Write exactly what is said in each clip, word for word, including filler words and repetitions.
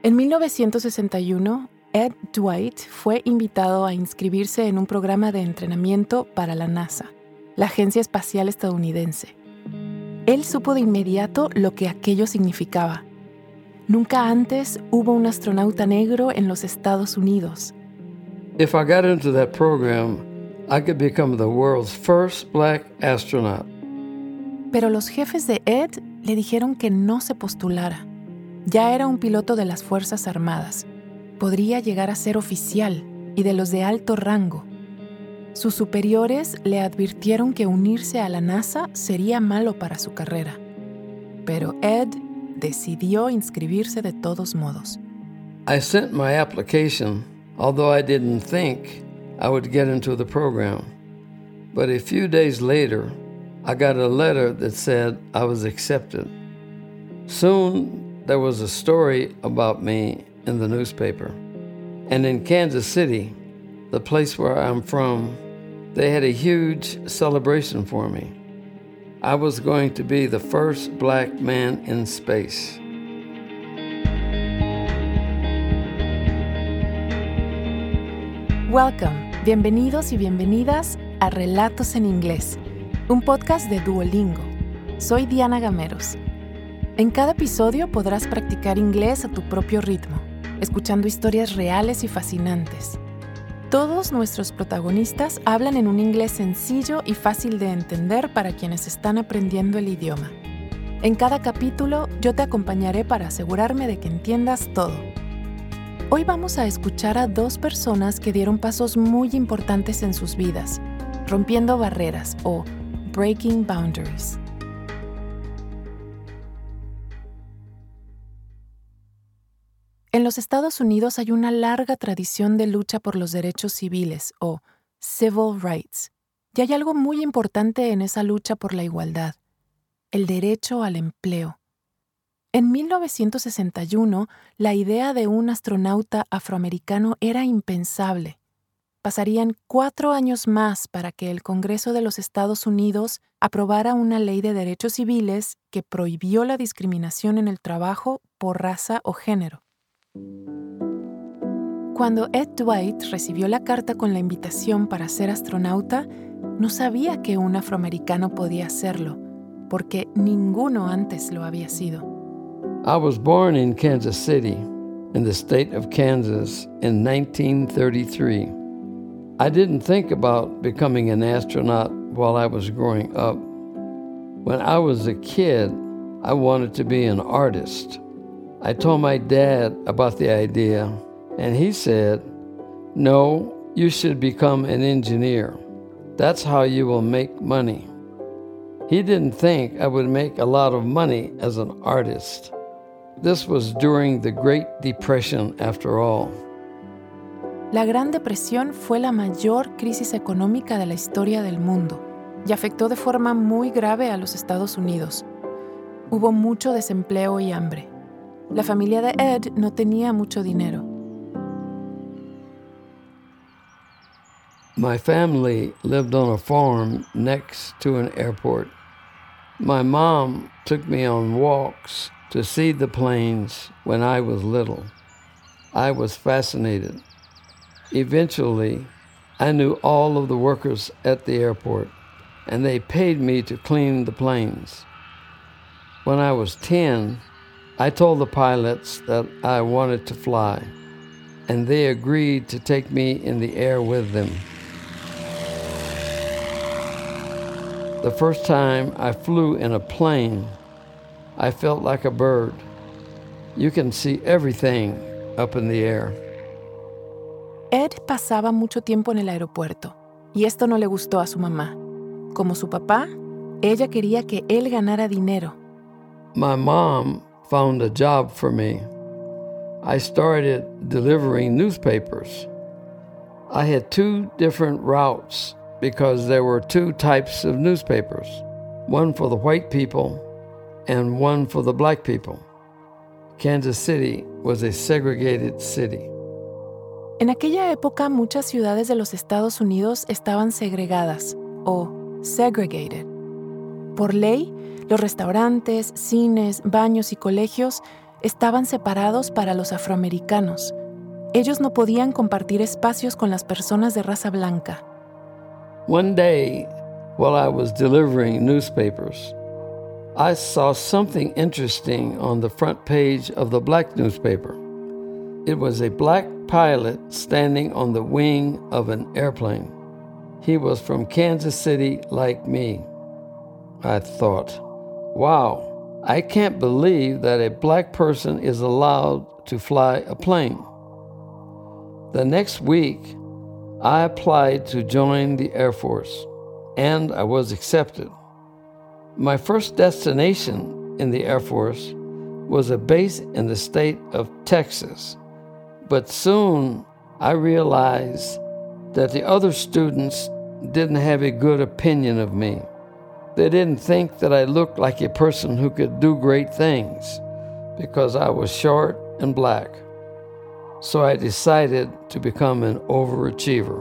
En mil novecientos sesenta y uno, Ed Dwight fue invitado a inscribirse en un programa de entrenamiento para la NASA, la Agencia Espacial Estadounidense. Él supo de inmediato lo que aquello significaba. Nunca antes hubo un astronauta negro en los Estados Unidos. If I got into that program, I could become the world's first black astronaut. Pero los jefes de Ed le dijeron que no se postulara. Ya era un piloto de las Fuerzas Armadas. Podría llegar a ser oficial y de los de alto rango. Sus superiores le advirtieron que unirse a la NASA sería malo para su carrera. Pero Ed decidió inscribirse de todos modos. I sent my application, although I didn't think I would get into the program. But a few days later, I got a letter that said I was accepted. Soon, there was a story about me in the newspaper. And in Kansas City, the place where I'm from, they had a huge celebration for me. I was going to be the first black man in space. Welcome, bienvenidos y bienvenidas a Relatos en Inglés, un podcast de Duolingo. Soy Diana Gameros. En cada episodio podrás practicar inglés a tu propio ritmo, escuchando historias reales y fascinantes. Todos nuestros protagonistas hablan en un inglés sencillo y fácil de entender para quienes están aprendiendo el idioma. En cada capítulo yo te acompañaré para asegurarme de que entiendas todo. Hoy vamos a escuchar a dos personas que dieron pasos muy importantes en sus vidas, rompiendo barreras o breaking boundaries. En los Estados Unidos hay una larga tradición de lucha por los derechos civiles, o civil rights, y hay algo muy importante en esa lucha por la igualdad: el derecho al empleo. En mil novecientos sesenta y uno, la idea de un astronauta afroamericano era impensable. Pasarían cuatro años más para que el Congreso de los Estados Unidos aprobara una ley de derechos civiles que prohibió la discriminación en el trabajo por raza o género. Cuando Ed Dwight recibió la carta con la invitación para ser astronauta, no sabía que un afroamericano podía hacerlo, porque ninguno antes lo había sido. I was born in Kansas City, in the state of Kansas, in nineteen thirty-three. I didn't think about becoming an astronaut while I was growing up. When I was a kid, I wanted to be an artist. I told my dad about the idea, and he said, "No, you should become an engineer. That's how you will make money." He didn't think I would make a lot of money as an artist. This was during the Great Depression, after all. La Gran Depresión fue la mayor crisis económica de la historia del mundo y afectó de forma muy grave a los Estados Unidos. Hubo mucho desempleo y hambre. La familia de Ed no tenía mucho dinero. My family lived on a farm next to an airport. My mom took me on walks to see the planes when I was little. I was fascinated. Eventually, I knew all of the workers at the airport, and they paid me to clean the planes. When I was ten, I told the pilots that I wanted to fly, and they agreed to take me in the air with them. The first time I flew in a plane, I felt like a bird. You can see everything up in the air. Ed pasaba mucho tiempo en el aeropuerto, y esto no le gustó a su mamá. Como su papá, ella quería que él ganara dinero. My mom found a job for me. I started delivering newspapers. I had two different routes because there were two types of newspapers, one for the white people and one for the black people. Kansas City was a segregated city. En aquella época, muchas ciudades de los Estados Unidos estaban segregadas, o segregated. Por ley, los restaurantes, cines, baños y colegios estaban separados para los afroamericanos. Ellos no podían compartir espacios con las personas de raza blanca. One day, while I was delivering newspapers, I saw something interesting on the front page of the black newspaper. It was a black pilot standing on the wing of an airplane. He was from Kansas City like me. I thought, wow, I can't believe that a black person is allowed to fly a plane. The next week, I applied to join the Air Force, and I was accepted. My first destination in the Air Force was a base in the state of Texas, but soon I realized that the other students didn't have a good opinion of me. They didn't think that I looked like a person who could do great things because I was short and black. So I decided to become an overachiever.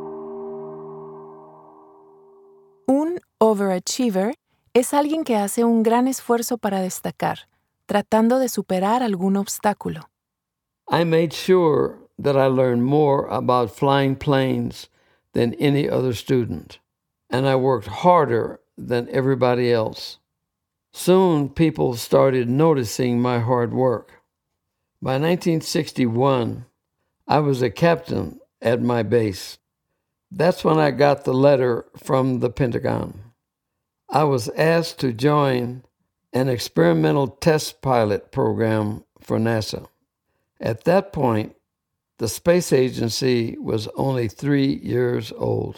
Un overachiever es alguien que hace un gran esfuerzo para destacar, tratando de superar algún obstáculo. I made sure that I learned more about flying planes than any other student, and I worked harder than everybody else. Soon, people started noticing my hard work. By nineteen sixty-one, I was a captain at my base. That's when I got the letter from the Pentagon. I was asked to join an experimental test pilot program for NASA. At that point, the space agency was only three years old.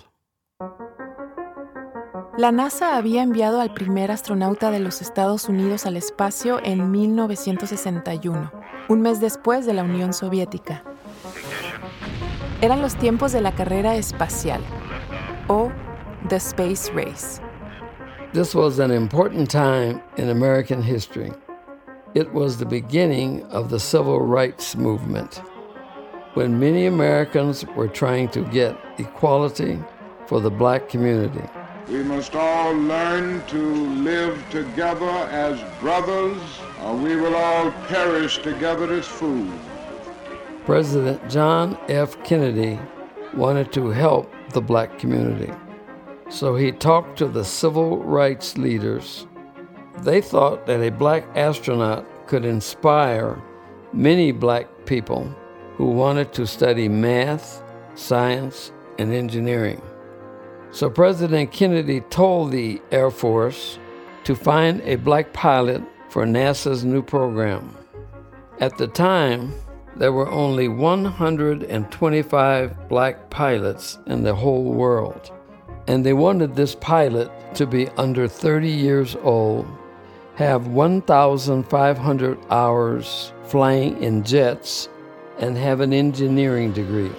La NASA había enviado al primer astronauta de los Estados Unidos al espacio en mil novecientos sesenta y uno, un mes después de la Unión Soviética. Eran los tiempos de la carrera espacial, o The Space Race. This was an important time in American history. It was the beginning of the civil rights movement, when many Americans were trying to get equality for the black community. We must all learn to live together as brothers, or we will all perish together as fools. President John F. Kennedy wanted to help the black community, so he talked to the civil rights leaders. They thought that a black astronaut could inspire many black people who wanted to study math, science, and engineering. So President Kennedy told the Air Force to find a black pilot for NASA's new program. At the time, there were only one hundred twenty-five black pilots in the whole world, and they wanted this pilot to be under thirty years old, have one thousand five hundred hours flying in jets, and have an engineering degree.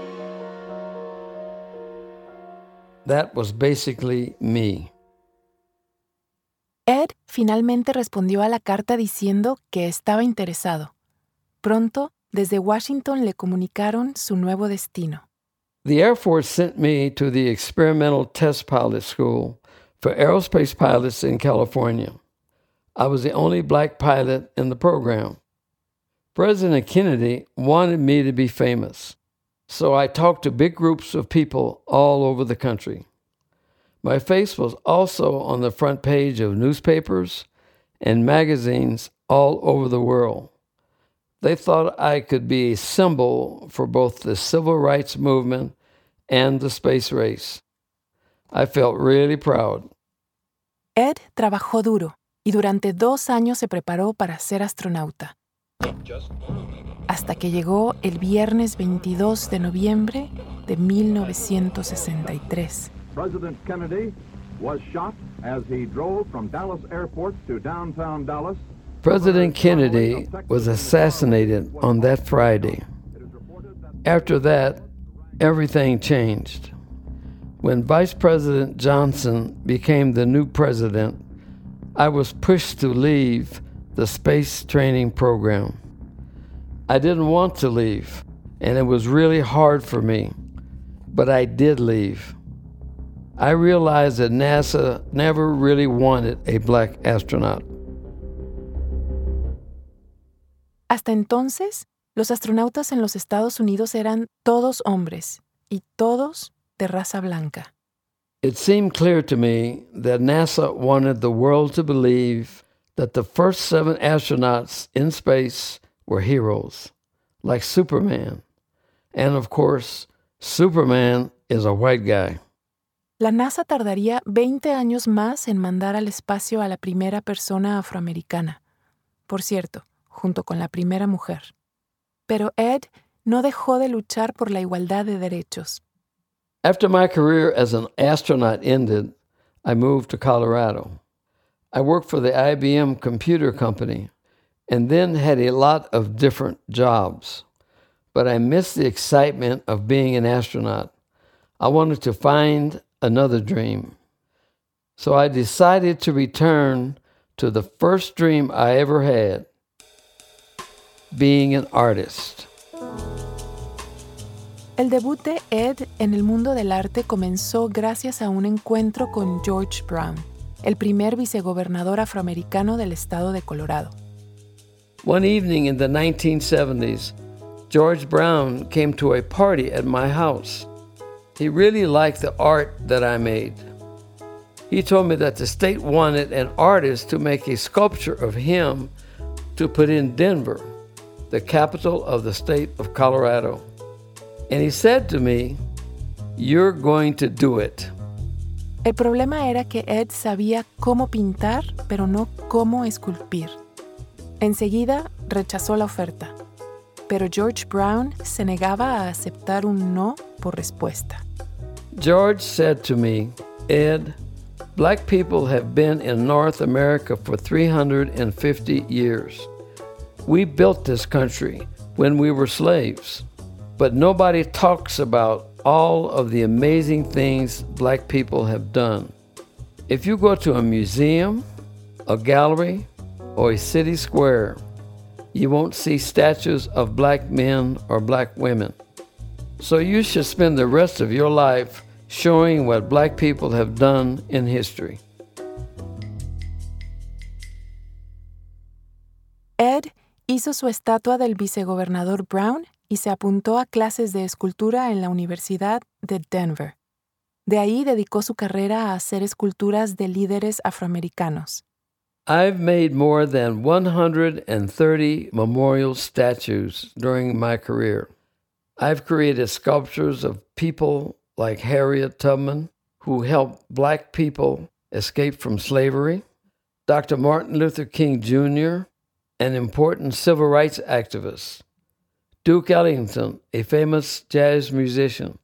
That was basically me. Ed finalmente respondió a la carta diciendo que estaba interesado. Pronto, desde Washington le comunicaron su nuevo destino. The Air Force sent me to the Experimental Test Pilot School for aerospace pilots in California. I was the only black pilot in the program. President Kennedy wanted me to be famous, so I talked to big groups of people all over the country. My face was also on the front page of newspapers and magazines all over the world. They thought I could be a symbol for both the civil rights movement and the space race. I felt really proud. Ed trabajó duro y durante dos años se preparó para ser astronauta. Hasta que llegó el viernes veintidós de noviembre de mil novecientos sesenta y tres. President Kennedy was shot as he drove from Dallas Airport to downtown Dallas. President Kennedy was assassinated on that Friday. After that, everything changed. When Vice President Johnson became the new president, I was pushed to leave the space training program. I didn't want to leave, and it was really hard for me, but I did leave. I realized that NASA never really wanted a black astronaut. Hasta entonces, los astronautas en los Estados Unidos eran todos hombres y todos de raza blanca. It seemed clear to me that NASA wanted the world to believe that the first seven astronauts in space were heroes, like Superman. And of course, Superman is a white guy. La NASA tardaría veinte años más en mandar al espacio a la primera persona afroamericana. Por cierto, junto con la primera mujer. Pero Ed no dejó de luchar por la igualdad de derechos. After my career as an astronaut ended, I moved to Colorado. I worked for the I B M Computer Company and then had a lot of different jobs. But I missed the excitement of being an astronaut. I wanted to find another dream. So I decided to return to the first dream I ever had, being an artist. El debut de Ed en el mundo del arte comenzó gracias a un encuentro con George Brown, el primer vicegobernador afroamericano del estado de Colorado. One evening in the nineteen seventies, George Brown came to a party at my house. He really liked the art that I made. He told me that the state wanted an artist to make a sculpture of him to put in Denver, the capital of the state of Colorado. And he said to me, "You're going to do it." El problema era que Ed sabía cómo pintar, pero no cómo esculpir. Enseguida rechazó la oferta, pero George Brown se negaba a aceptar un no por respuesta. George said to me, "Ed, black people have been in North America for three hundred fifty years. We built this country when we were slaves, but nobody talks about all of the amazing things black people have done. If you go to a museum, a gallery, or a city square, you won't see statues of black men or black women. So you should spend the rest of your life showing what black people have done in history." Ed hizo su estatua del vicegobernador Brown y se apuntó a clases de escultura en la Universidad de Denver. De ahí dedicó su carrera a hacer esculturas de líderes afroamericanos. I've made more than one hundred thirty memorial statues during my career. I've created sculptures of people like Harriet Tubman, who helped black people escape from slavery, Doctor Martin Luther King Junior, an important civil rights activist, Duke Ellington, a famous jazz musician.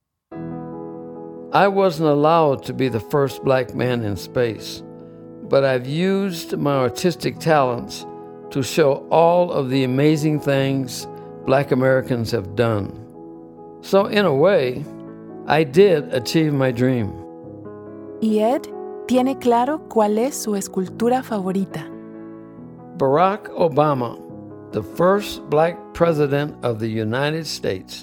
I wasn't allowed to be the first black man in space, but I've used my artistic talents to show all of the amazing things black Americans have done. So in a way, I did achieve my dream. Y Ed tiene claro cuál es su escultura favorita. Barack Obama, the first black president of the United States.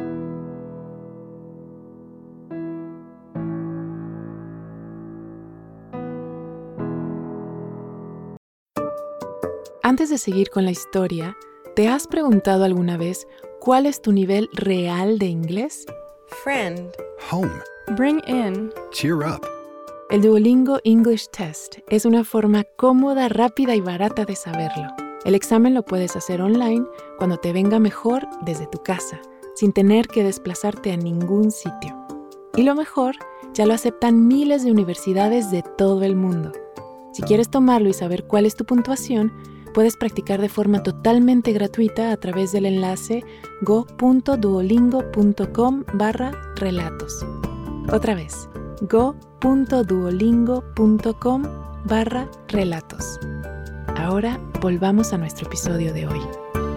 Antes de seguir con la historia, ¿te has preguntado alguna vez cuál es tu nivel real de inglés? Friend. Home. Bring in. Cheer up. El Duolingo English Test es una forma cómoda, rápida y barata de saberlo. El examen lo puedes hacer online cuando te venga mejor desde tu casa, sin tener que desplazarte a ningún sitio. Y lo mejor, ya lo aceptan miles de universidades de todo el mundo. Si quieres tomarlo y saber cuál es tu puntuación, puedes practicar de forma totalmente gratuita a través del enlace go.duolingo.com barra relatos. Otra vez, go.duolingo.com barra relatos. Ahora volvamos a nuestro episodio de hoy.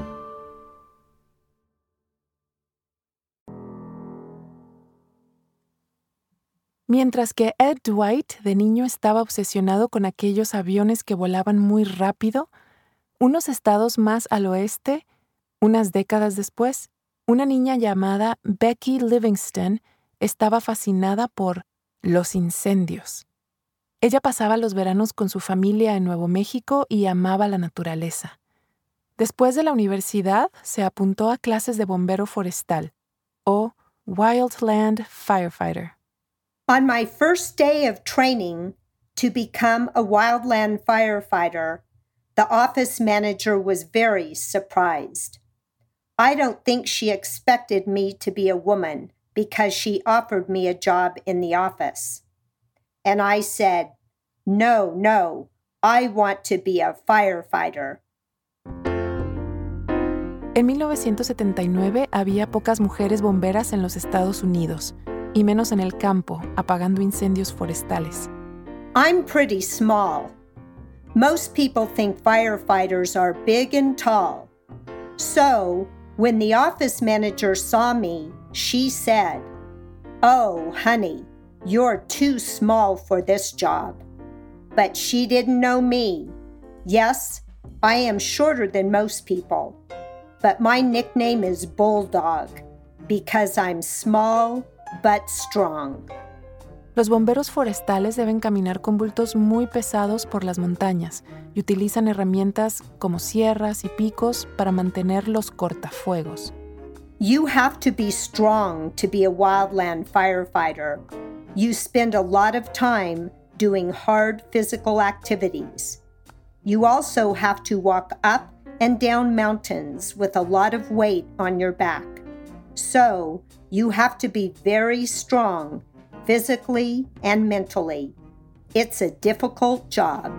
Mientras que Ed Dwight de niño estaba obsesionado con aquellos aviones que volaban muy rápido, unos estados más al oeste, unas décadas después, una niña llamada Becky Livingston estaba fascinada por los incendios. Ella pasaba los veranos con su familia en Nuevo México y amaba la naturaleza. Después de la universidad, se apuntó a clases de bombero forestal, o Wildland Firefighter. On my first day of training to become a wildland firefighter, the office manager was very surprised. I don't think she expected me to be a woman because she offered me a job in the office. And I said, no, no, I want to be a firefighter. En mil novecientos setenta y nueve había pocas mujeres bomberas en los Estados Unidos, y menos en el campo, apagando incendios forestales. I'm pretty small. Most people think firefighters are big and tall. So, when the office manager saw me, she said, "Oh, honey, you're too small for this job." But she didn't know me. Yes, I am shorter than most people, but my nickname is Bulldog because I'm small but strong. Los bomberos forestales deben caminar con bultos muy pesados por las montañas y utilizan herramientas como sierras y picos para mantener los cortafuegos. You have to be strong to be a wildland firefighter. You spend a lot of time doing hard physical activities. You also have to walk up and down mountains with a lot of weight on your back. So, you have to be very strong physically and mentally. It's a difficult job.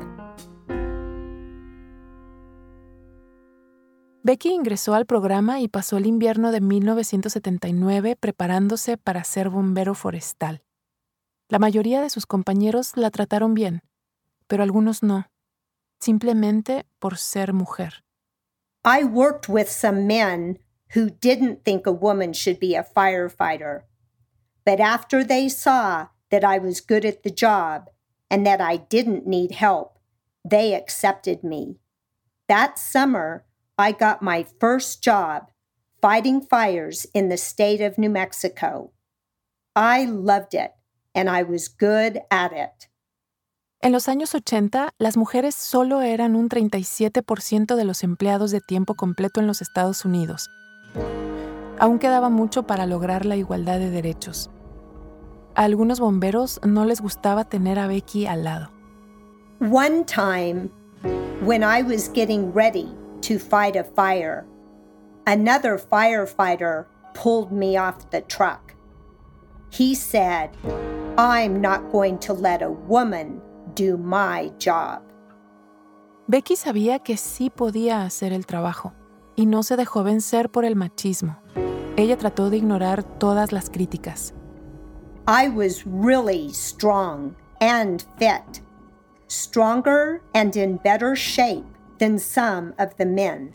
Becky ingresó al programa y pasó el invierno de mil novecientos setenta y nueve preparándose para ser bombero forestal. La mayoría de sus compañeros la trataron bien, pero algunos no, simplemente por ser mujer. I worked with some men who didn't think a woman should be a firefighter. But after they saw that I was good at the job and that I didn't need help, they accepted me. That summer, I got my first job fighting fires in the state of New Mexico. I loved it, and I was good at it. En los años ochenta, las mujeres solo eran un treinta y siete por ciento de los empleados de tiempo completo en los Estados Unidos. Aún quedaba mucho para lograr la igualdad de derechos. A algunos bomberos no les gustaba tener a Becky al lado. One time, when I was getting ready to fight a fire, another firefighter pulled me off the truck. He said, "I'm not going to let a woman do my job." Becky sabía que sí podía hacer el trabajo y no se dejó vencer por el machismo. Ella trató de ignorar todas las críticas. I was really strong and fit, stronger and in better shape than some of the men.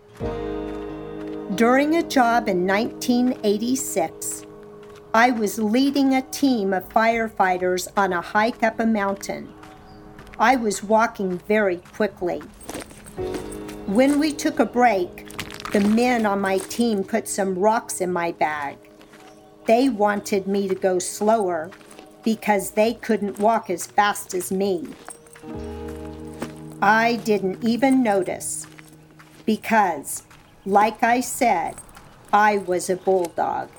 During a job in nineteen eighty-six, I was leading a team of firefighters on a hike up a mountain. I was walking very quickly. When we took a break, the men on my team put some rocks in my bag. They wanted me to go slower because they couldn't walk as fast as me. I didn't even notice because, like I said, I was a bulldog.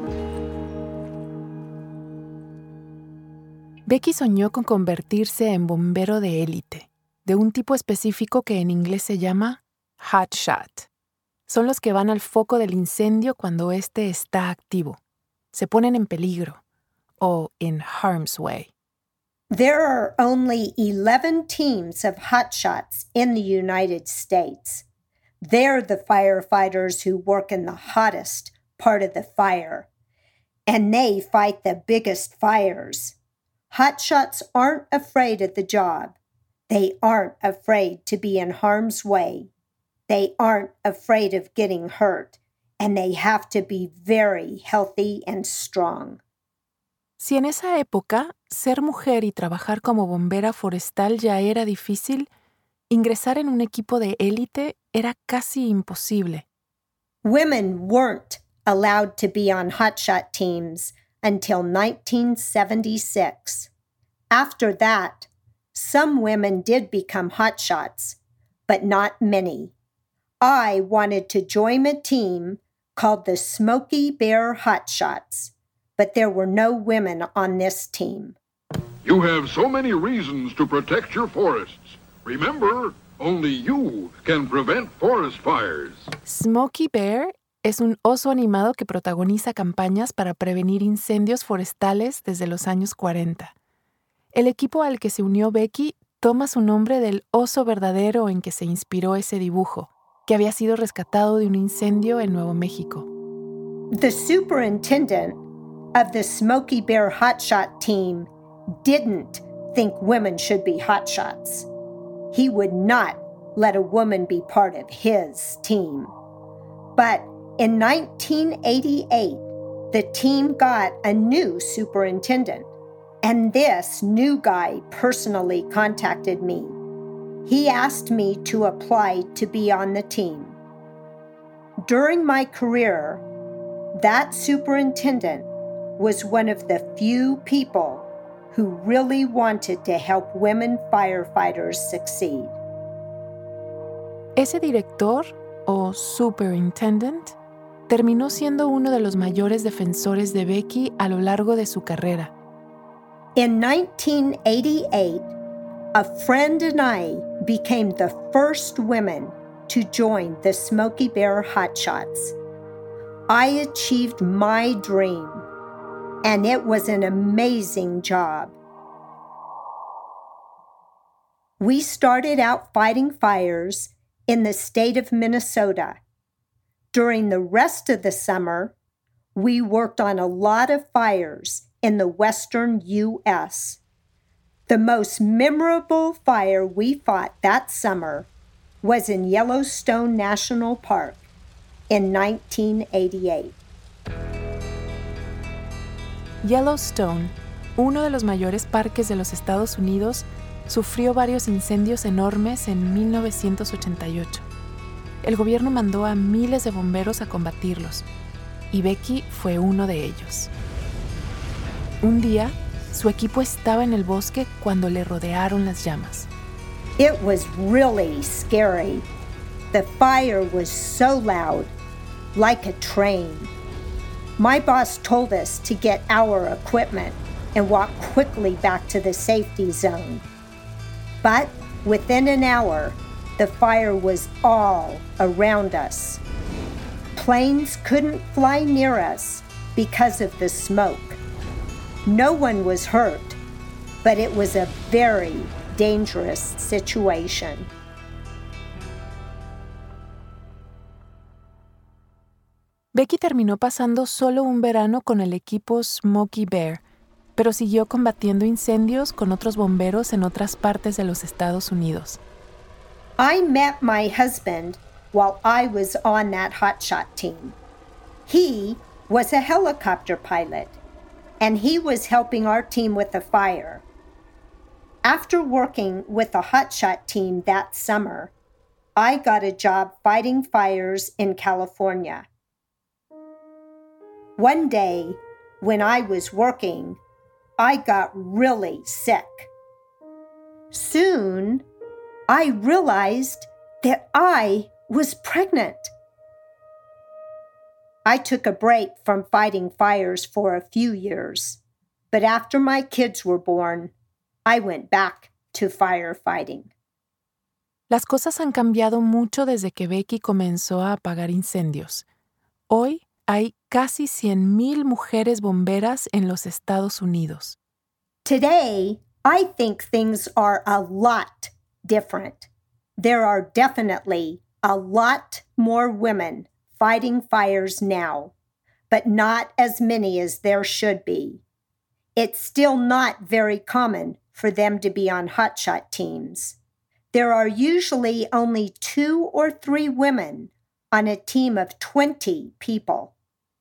Becky soñó con convertirse en bombero de élite, de un tipo específico que en inglés se llama hot shot. Son los que van al foco del incendio cuando éste está activo. Se ponen en peligro, o in harm's way. There are only eleven teams of hotshots in the United States. They're the firefighters who work in the hottest part of the fire, and they fight the biggest fires. Hotshots aren't afraid of the job. They aren't afraid to be in harm's way. They aren't afraid of getting hurt. And they have to be very healthy and strong. Si en esa época ser mujer y trabajar como bombera forestal ya era difícil, ingresar en un equipo de élite era casi imposible. Women weren't allowed to be on hotshot teams until nineteen seventy-six. After that, some women did become hotshots, but not many. I wanted to join a team called the Smokey Bear Hotshots, but there were no women on this team. You have so many reasons to protect your forests. Remember, only you can prevent forest fires. Smokey Bear es un oso animado que protagoniza campañas para prevenir incendios forestales desde los años cuarenta. El equipo al que se unió Becky toma su nombre del oso verdadero en que se inspiró ese dibujo, que había sido rescatado de un incendio en Nuevo México. The superintendent of the Smokey Bear Hotshot team didn't think women should be hotshots. He would not let a woman be part of his team. But in nineteen eighty-eight, the team got a new superintendent, and this new guy personally contacted me. He asked me to apply to be on the team. During my career, that superintendent was one of the few people who really wanted to help women firefighters succeed. Ese director, o superintendent, terminó siendo uno de los mayores defensores de Becky a lo largo de su carrera. In nineteen eighty-eight, a friend and I became the first women to join the Smokey Bear Hotshots. I achieved my dream, and it was an amazing job. We started out fighting fires in the state of Minnesota. During the rest of the summer, we worked on a lot of fires in the western U S. The most memorable fire we fought that summer was in Yellowstone National Park in nineteen eighty-eight. Yellowstone, uno de los mayores parques de los Estados Unidos, sufrió varios incendios enormes en mil novecientos ochenta y ocho. El gobierno mandó a miles de bomberos a combatirlos, y Becky fue uno de ellos. Un día, su equipo estaba en el bosque cuando le rodearon las llamas. It was really scary. The fire was so loud, like a train. My boss told us to get our equipment and walk quickly back to the safety zone. But within an hour, the fire was all around us. Planes couldn't fly near us because of the smoke. No one was hurt, but it was a very dangerous situation. Becky terminó pasando solo un verano con el equipo Smokey Bear, pero siguió combatiendo incendios con otros bomberos en otras partes de los Estados Unidos. I met my husband while I was on that hotshot team. He was a helicopter pilot, and he was helping our team with the fire. After working with the hotshot team that summer, I got a job fighting fires in California. One day, when I was working, I got really sick. Soon, I realized that I was pregnant. I took a break from fighting fires for a few years, but after my kids were born, I went back to firefighting. Las cosas han cambiado mucho desde que Becky comenzó a apagar incendios. Hoy hay casi cien mil mujeres bomberas en los Estados Unidos. Today, I think things are a lot different. There are definitely a lot more women fighting fires now, but not as many as there should be. It's still not very common for them to be on hotshot teams. There are usually only two or three women on a team of twenty people.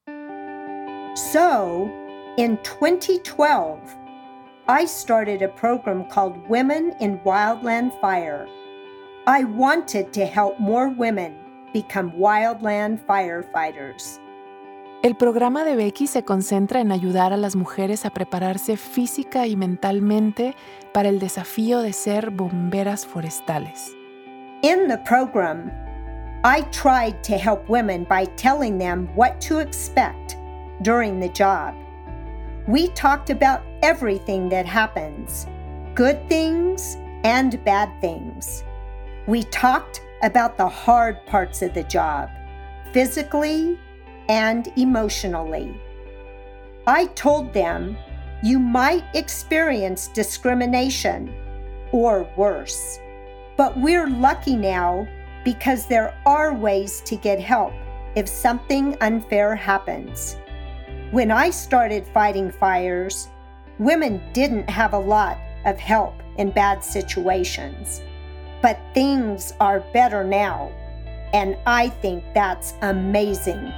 So, in twenty twelve, I started a program called Women in Wildland Fire. I wanted to help more women become wildland firefighters. El programa de Becky se concentra en ayudar a las mujeres a prepararse física y mentalmente para el desafío de ser bomberas forestales. In the program, I tried to help women by telling them what to expect during the job. We talked about everything that happens, good things and bad things. We talked about the hard parts of the job, physically and emotionally. I told them you might experience discrimination or worse, but we're lucky now because there are ways to get help if something unfair happens. When I started fighting fires, women didn't have a lot of help in bad situations, but things are better now, and I think that's amazing.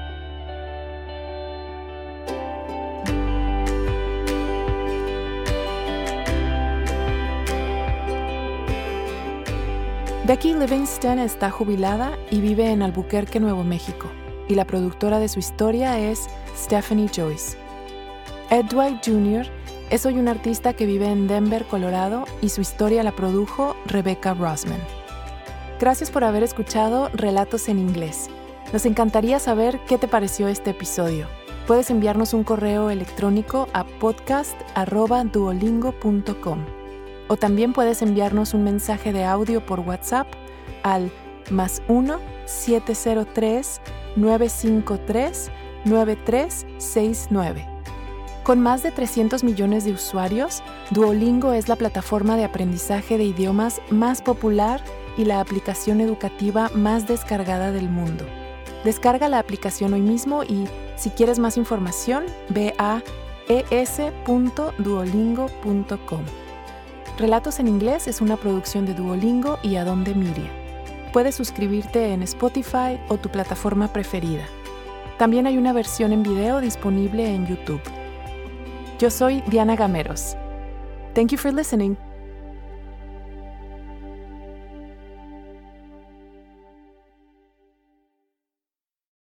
Becky Livingston está jubilada y vive en Albuquerque, Nuevo México, y la productora de su historia es Stephanie Joyce. Ed Dwight junior es hoy un artista que vive en Denver, Colorado, y su historia la produjo Rebecca Rosman. Gracias por haber escuchado Relatos en Inglés. Nos encantaría saber qué te pareció este episodio. Puedes enviarnos un correo electrónico a podcast arroba duolingo punto com. O también puedes enviarnos un mensaje de audio por WhatsApp al más uno siete cero tres nueve cinco tres nueve tres seis nueve. Con más de trescientos millones de usuarios, Duolingo es la plataforma de aprendizaje de idiomas más popular y la aplicación educativa más descargada del mundo. Descarga la aplicación hoy mismo y, si quieres más información, ve a e s punto duolingo punto com. Relatos en Inglés es una producción de Duolingo y Adonde Media. Puedes suscribirte en Spotify o tu plataforma preferida. También hay una versión en video disponible en YouTube. Yo soy Diana Gameros. Thank you for listening.